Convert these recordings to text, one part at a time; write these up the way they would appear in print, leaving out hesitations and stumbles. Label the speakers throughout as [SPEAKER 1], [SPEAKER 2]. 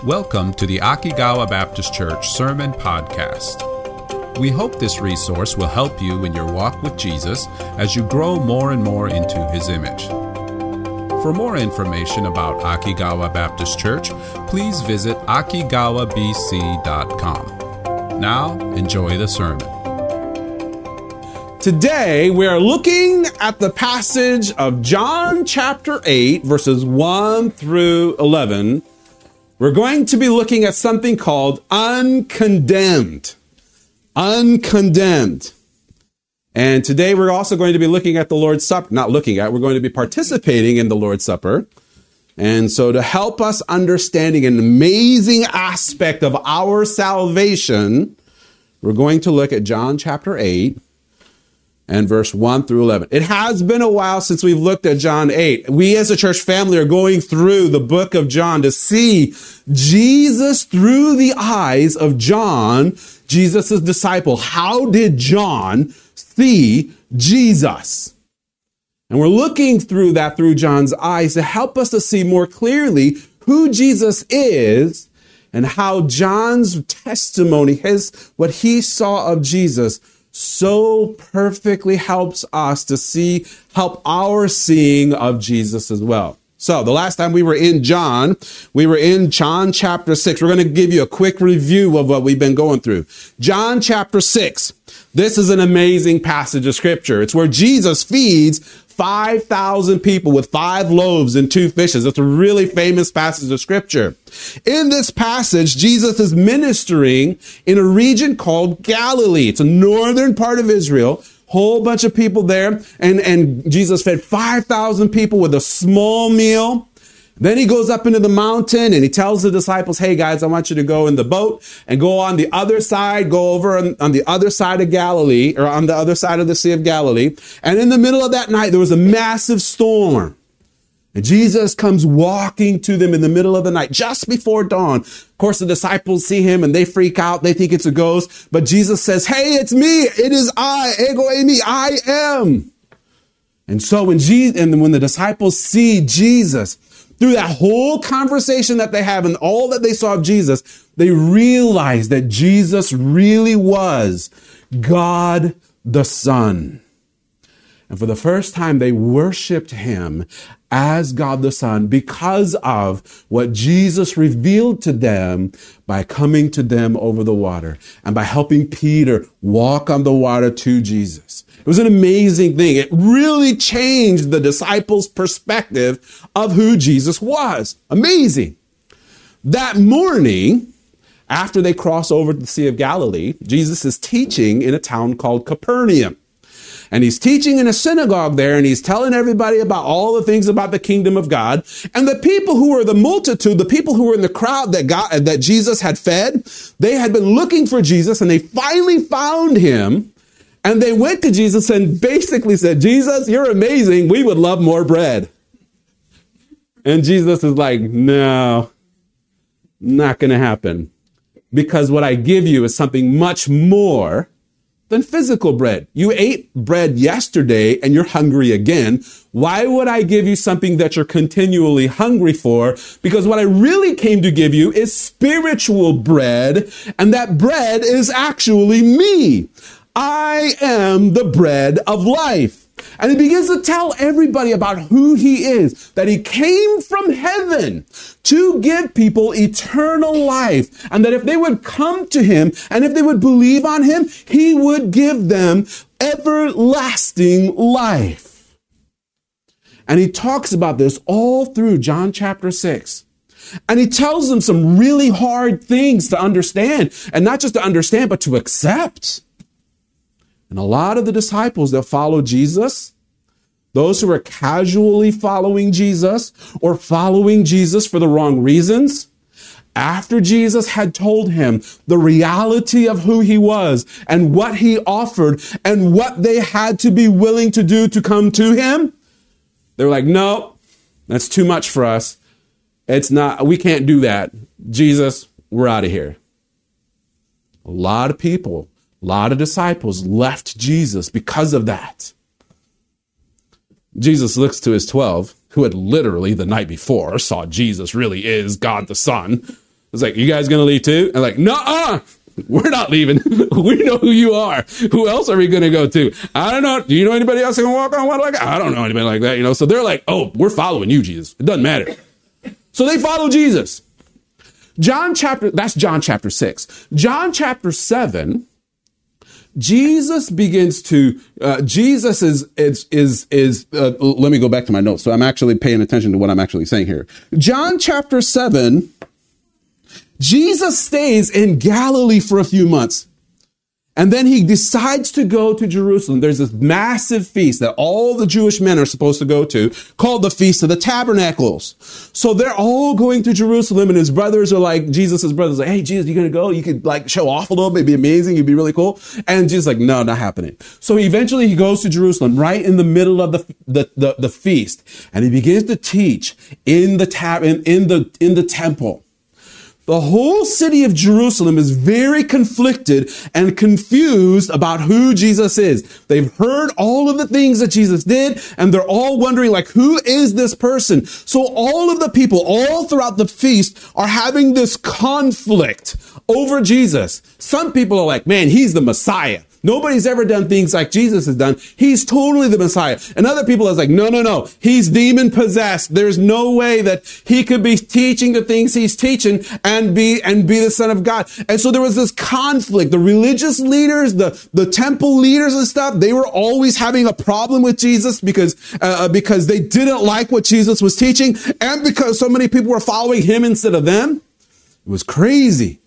[SPEAKER 1] Welcome to the Akigawa Baptist Church Sermon Podcast. We hope this resource will help you in your walk with Jesus as you grow more and more into His image. For more information about Akigawa Baptist Church, please visit akigawabc.com. Now, enjoy the sermon.
[SPEAKER 2] Today, we are looking at the passage of John chapter 8, verses 1 through 11. We're going to be looking at something called uncondemned. Uncondemned. And today we're also going to be looking at the Lord's Supper. We're going to be participating in the Lord's Supper. And so to help us understanding an amazing aspect of our salvation, we're going to look at John chapter 8 and verse 1 through 11. It has been a while since we've looked at John 8. We as a church family are going through the book of John to see Jesus through the eyes of John, Jesus' disciple. How did John see Jesus? And we're looking through that through John's eyes to help us to see more clearly who Jesus is and how John's testimony, what he saw of Jesus, so perfectly helps us to help our seeing of Jesus as well. So the last time we were in John chapter 6. We're going to give you a quick review of what we've been going through. John chapter 6. This is an amazing passage of scripture. It's where Jesus feeds 5,000 people with 5 loaves and 2 fishes. It's a really famous passage of scripture. In this passage, Jesus is ministering in a region called Galilee. It's a northern part of Israel. Whole bunch of people there. And Jesus fed 5,000 people with a small meal. Then he goes up into the mountain and he tells the disciples, hey guys, I want you to go in the boat and go on the other side, go over on the other side of Galilee, or on the other side of the Sea of Galilee. And in the middle of that night, there was a massive storm. And Jesus comes walking to them in the middle of the night, just before dawn. Of course, the disciples see him and they freak out. They think it's a ghost. But Jesus says, hey, it's me. It is I, ego eimi, I am. And so when the disciples see Jesus, through that whole conversation that they have and all that they saw of Jesus, they realize that Jesus really was God the Son. And for the first time, they worshiped him as God the Son because of what Jesus revealed to them by coming to them over the water and by helping Peter walk on the water to Jesus. It was an amazing thing. It really changed the disciples' perspective of who Jesus was. Amazing. That morning, after they cross over the Sea of Galilee, Jesus is teaching in a town called Capernaum. And he's teaching in a synagogue there, and he's telling everybody about all the things about the kingdom of God. And the people who were the multitude, the people who were in the crowd that Jesus had fed, they had been looking for Jesus, and they finally found him. And they went to Jesus and basically said, Jesus, you're amazing. We would love more bread. And Jesus is like, no, not going to happen. Because what I give you is something much more than physical bread. You ate bread yesterday and you're hungry again. Why would I give you something that you're continually hungry for? Because what I really came to give you is spiritual bread. And that bread is actually me. I am the bread of life. And he begins to tell everybody about who he is, that he came from heaven to give people eternal life, and that if they would come to him and if they would believe on him, he would give them everlasting life. And he talks about this all through John chapter 6. And he tells them some really hard things to understand, and not just to understand, but to accept. And a lot of the disciples that follow Jesus, those who are casually following Jesus or following Jesus for the wrong reasons, after Jesus had told him the reality of who he was and what he offered and what they had to be willing to do to come to him, they were like, no, that's too much for us. We can't do that. Jesus, we're out of here. A lot of people, a lot of disciples left Jesus because of that. Jesus looks to his 12, who had literally the night before saw Jesus really is God the Son. It's like, you guys going to leave too? And like, nuh-uh, we're not leaving. We know who you are. Who else are we going to go to? I don't know. Do you know anybody else who can walk on water like that? I don't know anybody like that, So they're like, oh, we're following you, Jesus. It doesn't matter. So they follow Jesus. That's John chapter 6. John chapter 7, Jesus begins to, let me go back to my notes. So I'm actually paying attention to what I'm actually saying here. John chapter 7, Jesus stays in Galilee for a few months. And then he decides to go to Jerusalem. There's this massive feast that all the Jewish men are supposed to go to called the Feast of the Tabernacles. So they're all going to Jerusalem, and his brothers are like, Jesus' brothers are like, hey, Jesus, you going to go? You could like show off a little bit. It'd be amazing. You'd be really cool. And Jesus is like, no, not happening. So eventually he goes to Jerusalem right in the middle of the feast. And he begins to teach in the temple. The whole city of Jerusalem is very conflicted and confused about who Jesus is. They've heard all of the things that Jesus did, and they're all wondering, like, who is this person? So all of the people, all throughout the feast, are having this conflict over Jesus. Some people are like, man, he's the Messiah. Nobody's ever done things like Jesus has done. He's totally the Messiah. And other people are like, no. He's demon possessed. There's no way that he could be teaching the things he's teaching and be the Son of God. And so there was this conflict. The religious leaders, the temple leaders and stuff, they were always having a problem with Jesus because they didn't like what Jesus was teaching, and because so many people were following him instead of them. It was crazy.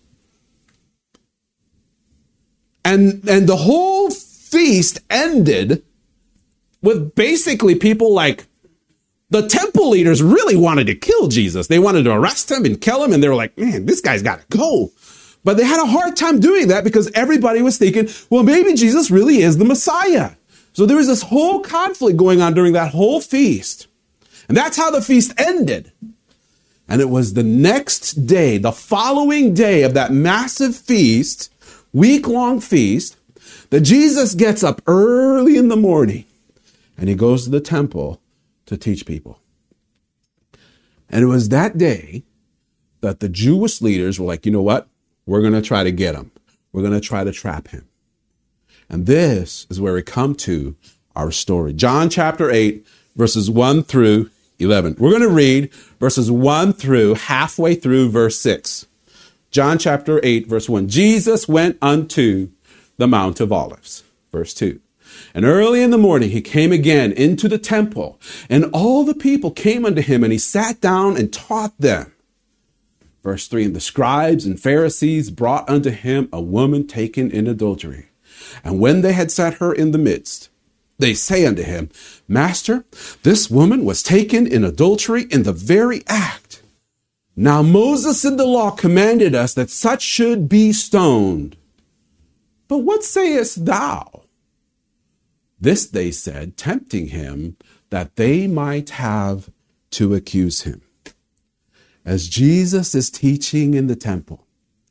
[SPEAKER 2] And the whole feast ended with basically people like the temple leaders really wanted to kill Jesus. They wanted to arrest him and kill him. And they were like, man, this guy's got to go. But they had a hard time doing that because everybody was thinking, well, maybe Jesus really is the Messiah. So there was this whole conflict going on during that whole feast. And that's how the feast ended. And it was the next day, the following day of that massive feast, week-long feast, that Jesus gets up early in the morning and he goes to the temple to teach people. And it was that day that the Jewish leaders were like, you know what? We're going to try to get him. We're going to try to trap him. And this is where we come to our story. John chapter 8, verses 1 through 11. We're going to read verses 1 through halfway through verse 6. John chapter 8, verse 1. Jesus went unto the Mount of Olives. Verse 2. And early in the morning he came again into the temple, and all the people came unto him, and he sat down and taught them. Verse 3. And the scribes and Pharisees brought unto him a woman taken in adultery. And when they had set her in the midst, they say unto him, Master, this woman was taken in adultery in the very act. Now Moses in the law commanded us that such should be stoned. But what sayest thou? This they said, tempting him, that they might have to accuse him. As Jesus is teaching in the temple,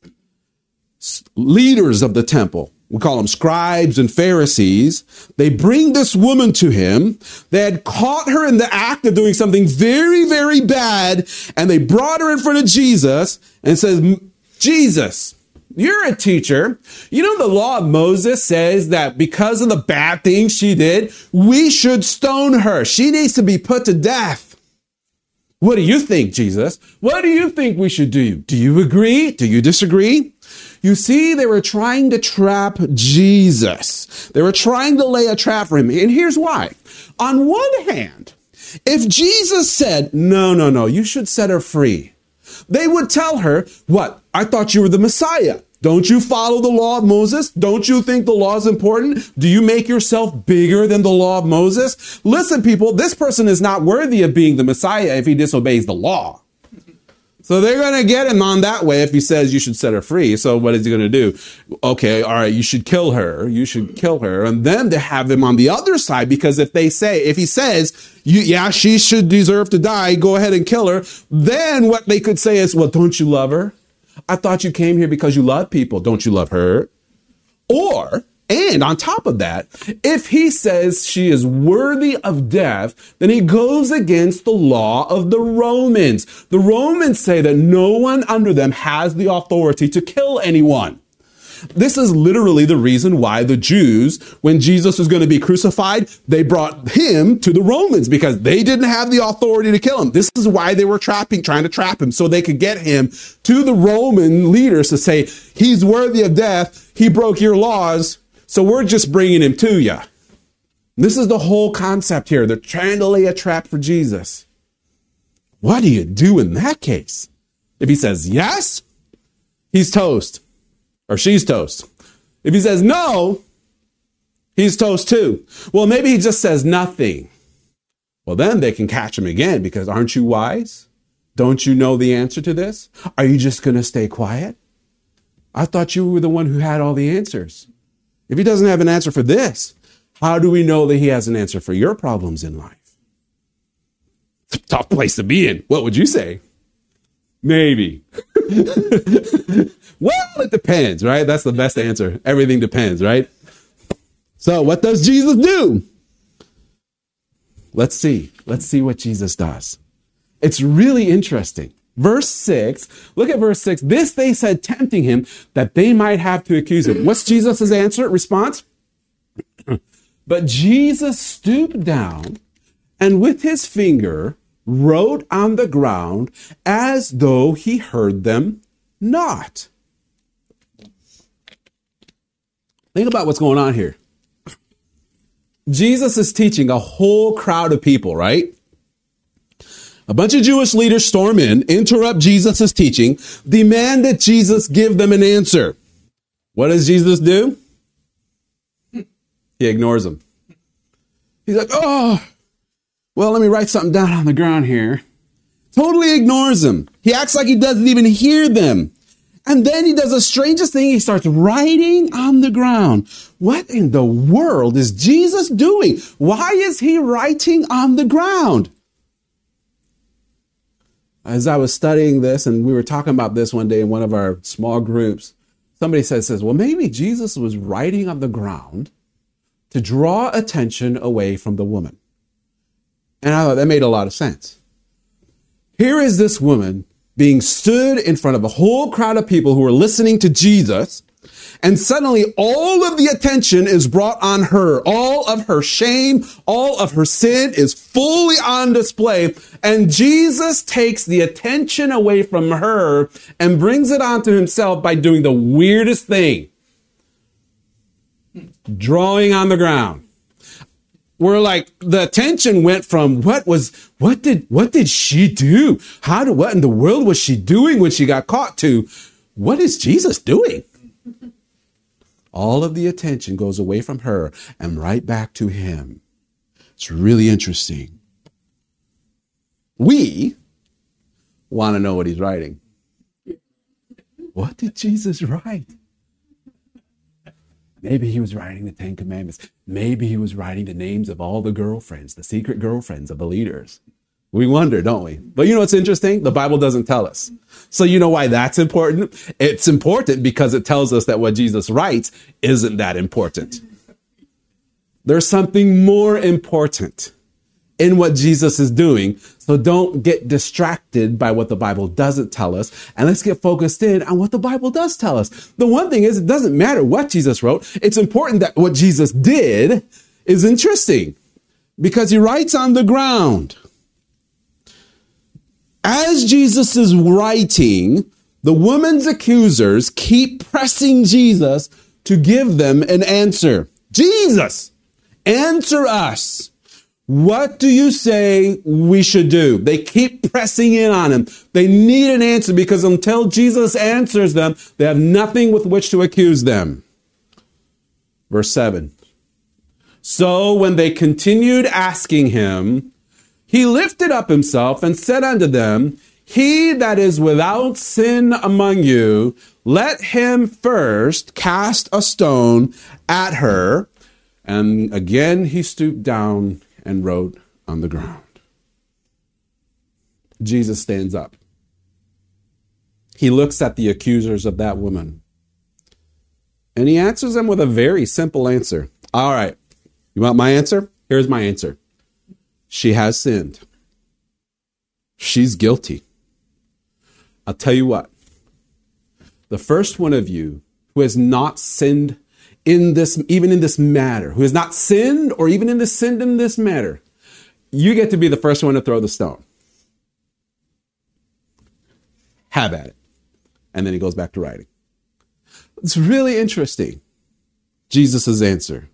[SPEAKER 2] leaders of the temple, we call them scribes and Pharisees, they bring this woman to him. They had caught her in the act of doing something very, very bad, and they brought her in front of Jesus and says, Jesus, you're a teacher. You know, the law of Moses says that because of the bad things she did, we should stone her. She needs to be put to death. What do you think, Jesus? What do you think we should do? Do you agree? Do you disagree? You see, they were trying to trap Jesus. They were trying to lay a trap for him. And here's why. On one hand, if Jesus said, no, you should set her free, they would tell her, what? I thought you were the Messiah. Don't you follow the law of Moses? Don't you think the law is important? Do you make yourself bigger than the law of Moses? Listen, people, this person is not worthy of being the Messiah if he disobeys the law. So they're going to get him on that way if he says you should set her free. So what is he going to do? Okay, all right, you should kill her. You should kill her. And then they have him on the other side, because if he says, she should deserve to die, go ahead and kill her. Then what they could say is, well, don't you love her? I thought you came here because you love people. Don't you love her? Or And on top of that, if he says she is worthy of death, then he goes against the law of the Romans. The Romans say that no one under them has the authority to kill anyone. This is literally the reason why the Jews, when Jesus was going to be crucified, they brought him to the Romans because they didn't have the authority to kill him. This is why they were trying to trap him so they could get him to the Roman leaders to say, he's worthy of death. He broke your laws. So we're just bringing him to you. This is the whole concept here. They're trying to lay a trap for Jesus. What do you do in that case? If he says yes, he's toast. Or she's toast. If he says no, he's toast too. Well, maybe he just says nothing. Well, then they can catch him again because aren't you wise? Don't you know the answer to this? Are you just going to stay quiet? I thought you were the one who had all the answers. If he doesn't have an answer for this, how do we know that he has an answer for your problems in life? It's a tough place to be in. What would you say? Maybe. Well, it depends, right? That's the best answer. Everything depends, right? So what does Jesus do? Let's see. Let's see what Jesus does. It's really interesting. Verse 6, look at verse 6. This they said, tempting him, that they might have to accuse him. What's Jesus' response? But Jesus stooped down and with his finger wrote on the ground as though he heard them not. Think about what's going on here. Jesus is teaching a whole crowd of people, right? A bunch of Jewish leaders storm in, interrupt Jesus' teaching, demand that Jesus give them an answer. What does Jesus do? He ignores them. He's like, oh, well, let me write something down on the ground here. Totally ignores them. He acts like he doesn't even hear them. And then he does the strangest thing. He starts writing on the ground. What in the world is Jesus doing? Why is he writing on the ground? As I was studying this, and we were talking about this one day in one of our small groups, somebody says, well, maybe Jesus was writing on the ground to draw attention away from the woman. And I thought that made a lot of sense. Here is this woman being stood in front of a whole crowd of people who are listening to Jesus, and suddenly all of the attention is brought on her. All of her shame, all of her sin is fully on display, and Jesus takes the attention away from her and brings it onto himself by doing the weirdest thing. Drawing on the ground. We're like, the attention went from what did she do? What in the world was she doing when she got caught to what is Jesus doing? All of the attention goes away from her and right back to him. It's really interesting. We want to know what he's writing. What did Jesus write? Maybe he was writing the Ten Commandments. Maybe he was writing the names of all the girlfriends, the secret girlfriends of the leaders. We wonder, don't we? But you know what's interesting? The Bible doesn't tell us. So you know why that's important? It's important because it tells us that what Jesus writes isn't that important. There's something more important in what Jesus is doing. So don't get distracted by what the Bible doesn't tell us. And let's get focused in on what the Bible does tell us. The one thing is, it doesn't matter what Jesus wrote. It's important that what Jesus did is interesting because he writes on the ground. As Jesus is writing, the woman's accusers keep pressing Jesus to give them an answer. Jesus, answer us. What do you say we should do? They keep pressing in on him. They need an answer because until Jesus answers them, they have nothing with which to accuse them. Verse 7. So when they continued asking him, he lifted up himself and said unto them, he that is without sin among you, let him first cast a stone at her. And again he stooped down and wrote on the ground. Jesus stands up. He looks at the accusers of that woman. And he answers them with a very simple answer. All right. You want my answer? Here's my answer. She has sinned. She's guilty. I'll tell you what. The first one of you who has not sinned in this, even in this matter, who has not sinned or even sinned in this matter, you get to be the first one to throw the stone. Have at it. And then he goes back to writing. It's really interesting. Jesus' answer.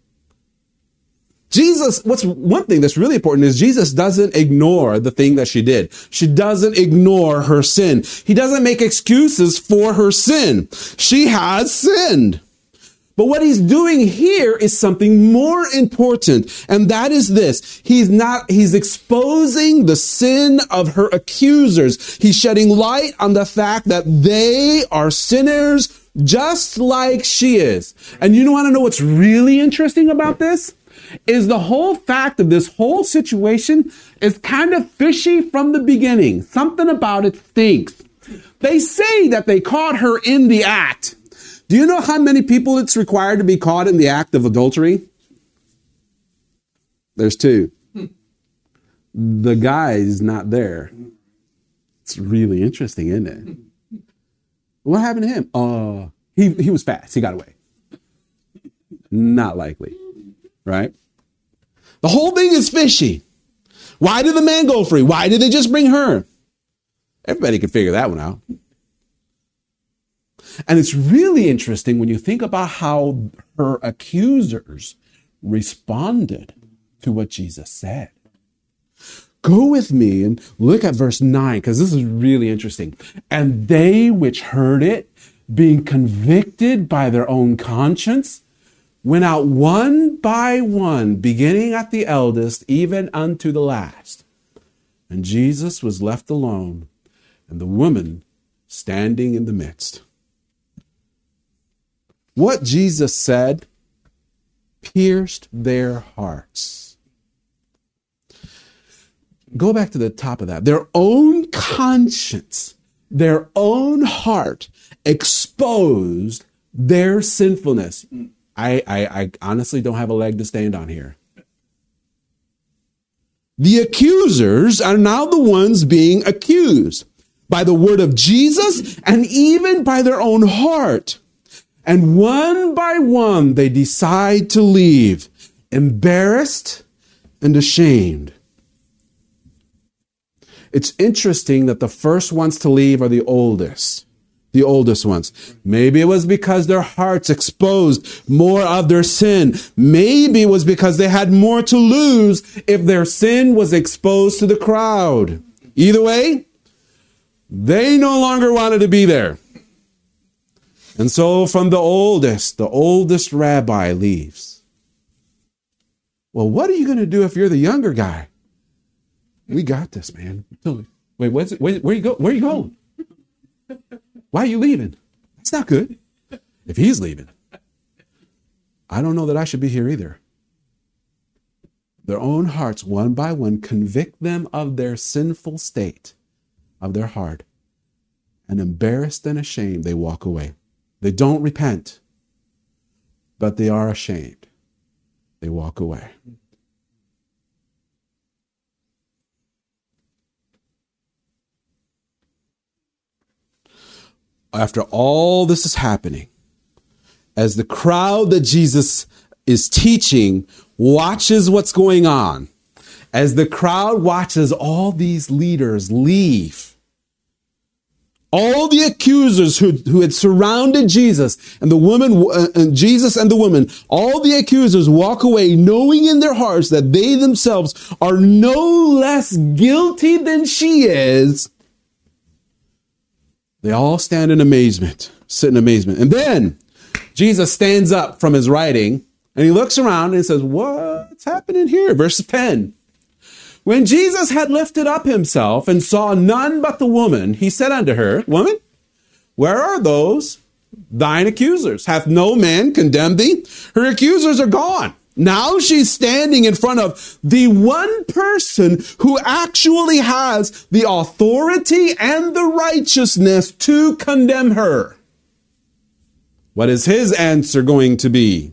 [SPEAKER 2] What's one thing that's really important is Jesus doesn't ignore the thing that she did. She doesn't ignore her sin. He doesn't make excuses for her sin. She has sinned. But what he's doing here is something more important, and that is this. He's exposing the sin of her accusers. He's shedding light on the fact that they are sinners just like she is. And you want to know what's really interesting about this? Is the whole fact of this whole situation is kind of fishy from the beginning. Something about it stinks. They say that they caught her in the act. Do you know how many people it's required to be caught in the act of adultery? There's 2. The guy's not there. It's really interesting, isn't it? What happened to him? He was fast. He got away. Not likely. Right? The whole thing is fishy. Why did the man go free? Why did they just bring her? Everybody can figure that one out. And it's really interesting when you think about how her accusers responded to what Jesus said. Go with me and look at verse 9, because this is really interesting. And they which heard it, being convicted by their own conscience, went out one by one, beginning at the eldest, even unto the last. And Jesus was left alone, and the woman standing in the midst. What Jesus said pierced their hearts. Go back to the top of that. Their own conscience, their own heart exposed their sinfulness. I honestly don't have a leg to stand on here. The accusers are now the ones being accused by the word of Jesus and even by their own heart. And one by one, they decide to leave, embarrassed and ashamed. It's interesting that the first ones to leave are the oldest ones. Maybe it was because their hearts exposed more of their sin. Maybe it was because they had more to lose if their sin was exposed to the crowd. Either way, they no longer wanted to be there. And so from the oldest rabbi leaves. Well, what are you going to do if you're the younger guy? We got this, man. Wait, where you go? Where are you going? Why are you leaving? That's not good. If he's leaving, I don't know that I should be here either. Their own hearts, one by one, convict them of their sinful state of their heart. And embarrassed and ashamed, they walk away. They don't repent, but they are ashamed. They walk away. After all this is happening, as the crowd that Jesus is teaching watches what's going on, as the crowd watches all these leaders leave, all the accusers who had surrounded Jesus and the woman, Jesus and the woman, all the accusers walk away knowing in their hearts that they themselves are no less guilty than she is. They all stand in amazement, sit in amazement. And then Jesus stands up from his writing and he looks around and says, what's happening here? Verse 10. When Jesus had lifted up himself and saw none but the woman, he said unto her, Woman, where are those thine accusers? Hath no man condemned thee? Her accusers are gone. Now she's standing in front of the one person who actually has the authority and the righteousness to condemn her. What is his answer going to be?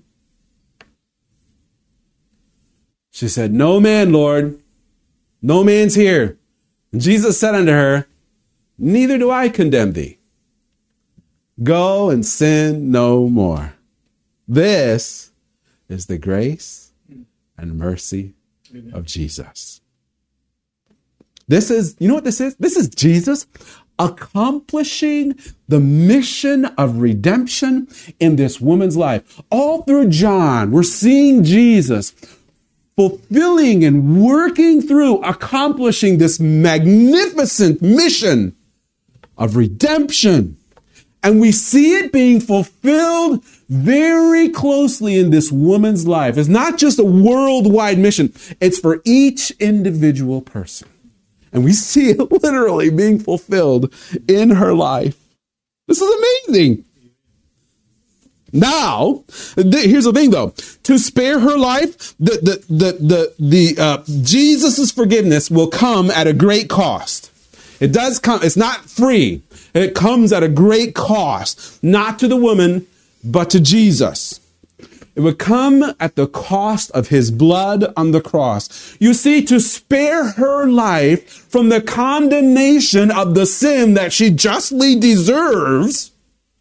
[SPEAKER 2] She said, "No man, Lord. No man's here." And Jesus said unto her, "Neither do I condemn thee. Go and sin no more." This is the grace and mercy of Jesus. This is, you know what this is? This is Jesus accomplishing the mission of redemption in this woman's life. All through John, we're seeing Jesus fulfilling and working through, accomplishing this magnificent mission of redemption. And we see it being fulfilled very closely in this woman's life. It's not just a worldwide mission. It's for each individual person. And we see it literally being fulfilled in her life. This is amazing. Now, here's the thing though. To spare her life, Jesus's forgiveness will come at a great cost. It does come. It's not free. It comes at a great cost, not to the woman, but to Jesus. It would come at the cost of his blood on the cross. You see, to spare her life from the condemnation of the sin that she justly deserves,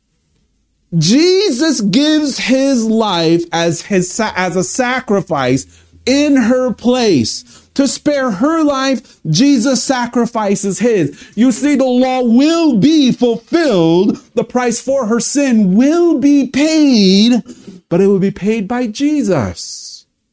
[SPEAKER 2] Jesus gives his life as a sacrifice in her place. To spare her life, Jesus sacrifices his. You see, the law will be fulfilled. The price for her sin will be paid, but it will be paid by Jesus.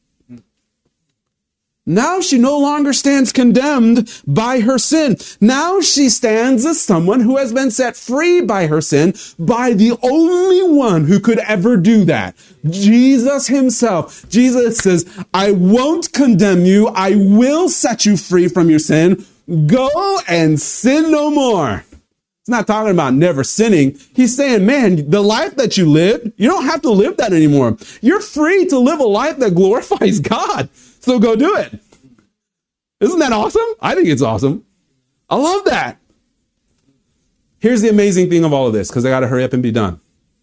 [SPEAKER 2] Now she no longer stands condemned by her sin. Now she stands as someone who has been set free by her sin, by the only one who could ever do that, Jesus himself. Jesus says, "I won't condemn you. I will set you free from your sin. Go and sin no more." He's not talking about never sinning. He's saying, man, the life that you lived, you don't have to live that anymore. You're free to live a life that glorifies God. So go do it. Isn't that awesome? I think it's awesome. I love that. Here's the amazing thing of all of this, because I got to hurry up and be done.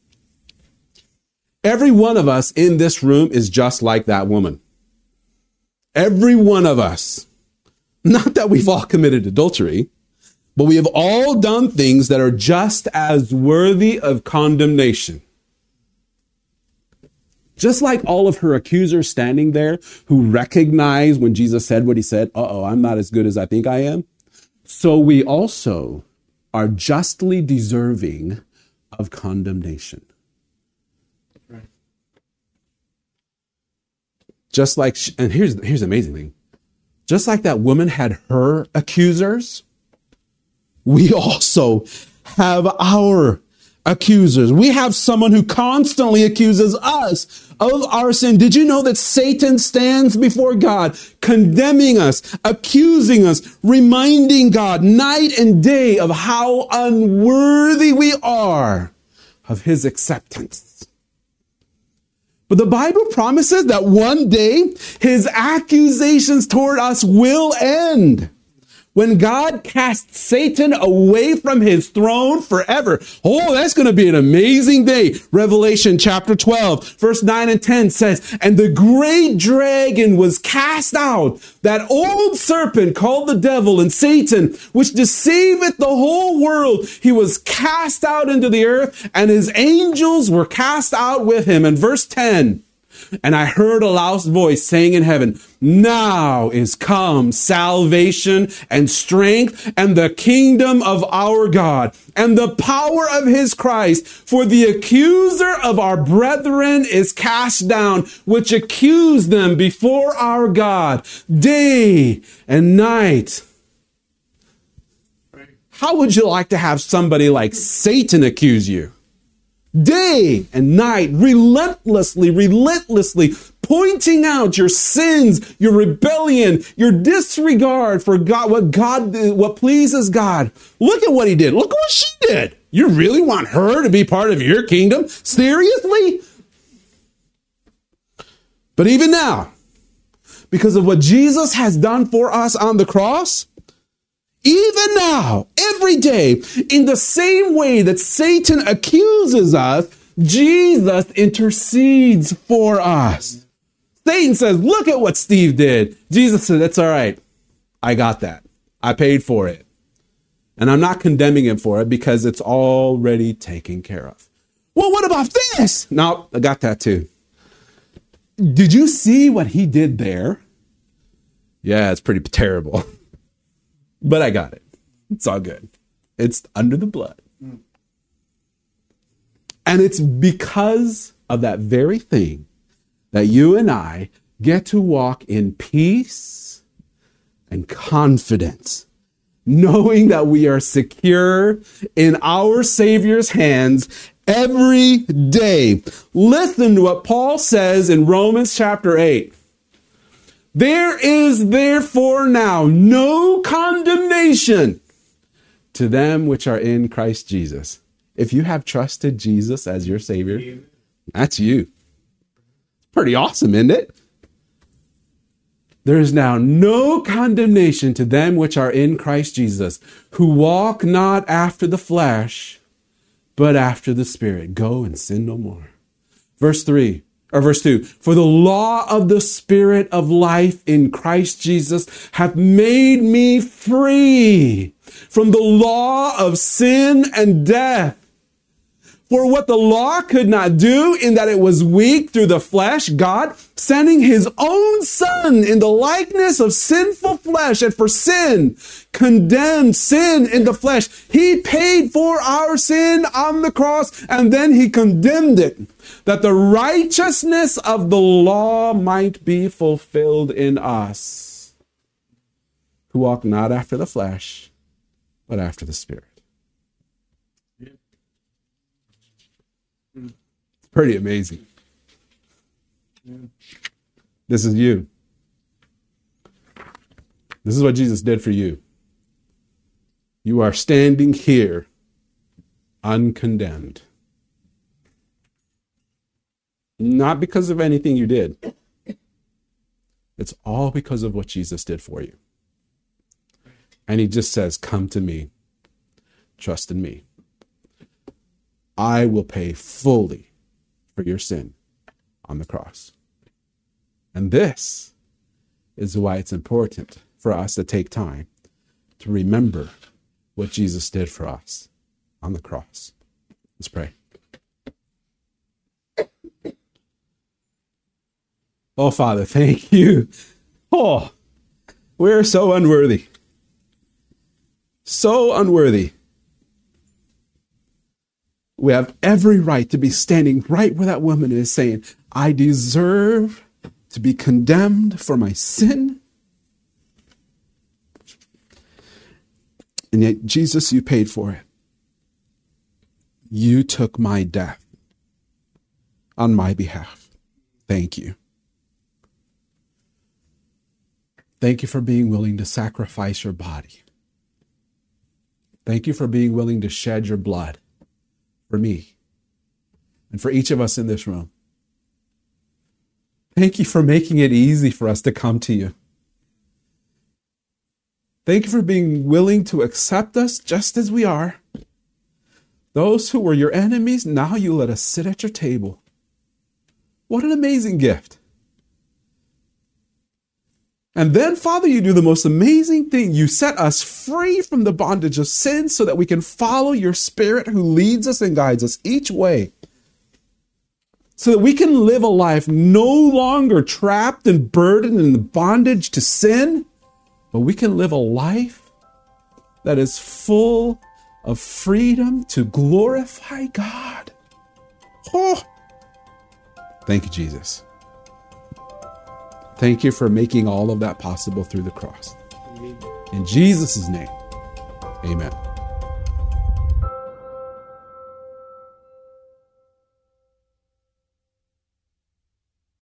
[SPEAKER 2] Every one of us in this room is just like that woman. Every one of us. Not that we've all committed adultery, but we have all done things that are just as worthy of condemnation. Just like all of her accusers standing there who recognized when Jesus said what he said, I'm not as good as I think I am. So we also are justly deserving of condemnation. Right. Just like, and here's the amazing thing. Just like that woman had her accusers, we also have our accusers. We have someone who constantly accuses us of our sin. Did you know that Satan stands before God, condemning us, accusing us, reminding God night and day of how unworthy we are of his acceptance? But the Bible promises that one day his accusations toward us will end. When God casts Satan away from his throne forever. Oh, that's going to be an amazing day. Revelation chapter 12, verse 9 and 10 says, "And the great dragon was cast out, that old serpent called the devil and Satan, which deceiveth the whole world. He was cast out into the earth, and his angels were cast out with him." And verse 10, "And I heard a loud voice saying in heaven, now is come salvation and strength and the kingdom of our God and the power of his Christ. For the accuser of our brethren is cast down, which accused them before our God day and night." How would you like to have somebody like Satan accuse you? Day and night, relentlessly, pointing out your sins, your rebellion, your disregard for God, what pleases God. Look at what he did. Look what she did. You really want her to be part of your kingdom? Seriously? But even now, because of what Jesus has done for us on the cross, even now, every day, in the same way that Satan accuses us, Jesus intercedes for us. Satan says, look at what Steve did. Jesus said, that's all right. I got that. I paid for it. And I'm not condemning him for it because it's already taken care of. Well, what about this? No, I got that too. Did you see what he did there? Yeah, it's pretty terrible. But I got it. It's all good. It's under the blood. And it's because of that very thing that you and I get to walk in peace and confidence, knowing that we are secure in our Savior's hands every day. Listen to what Paul says in Romans chapter 8. There is therefore now no condemnation to them which are in Christ Jesus. If you have trusted Jesus as your Savior, that's you. Pretty awesome, isn't it? There is now no condemnation to them which are in Christ Jesus, who walk not after the flesh, but after the Spirit. Go and sin no more. Verse 2. For the law of the Spirit of life in Christ Jesus hath made me free from the law of sin and death. For what the law could not do, in that it was weak through the flesh, God, sending his own Son in the likeness of sinful flesh, and for sin, condemned sin in the flesh. He paid for our sin on the cross, and then he condemned it, that the righteousness of the law might be fulfilled in us, who walk not after the flesh, but after the Spirit. Pretty amazing. This is you. This is what Jesus did for you. You are standing here uncondemned. Not because of anything you did. It's all because of what Jesus did for you. And he just says, come to me. Trust in me. I will pay fully for your sin on the cross. And this is why it's important for us to take time to remember what Jesus did for us on the cross. Let's pray. Oh, Father, thank you. Oh, we're so unworthy. So unworthy. We have every right to be standing right where that woman is saying, I deserve to be condemned for my sin. And yet, Jesus, you paid for it. You took my death on my behalf. Thank you. Thank you for being willing to sacrifice your body. Thank you for being willing to shed your blood for me and for each of us in this room. Thank you for making it easy for us to come to you. Thank you for being willing to accept us just as we are. Those who were your enemies, now you let us sit at your table. What an amazing gift. And then, Father, you do the most amazing thing. You set us free from the bondage of sin so that we can follow your Spirit who leads us and guides us each way. So that we can live a life no longer trapped and burdened in the bondage to sin, but we can live a life that is full of freedom to glorify God. Oh, thank you, Jesus. Thank you for making all of that possible through the cross. In Jesus' name, amen.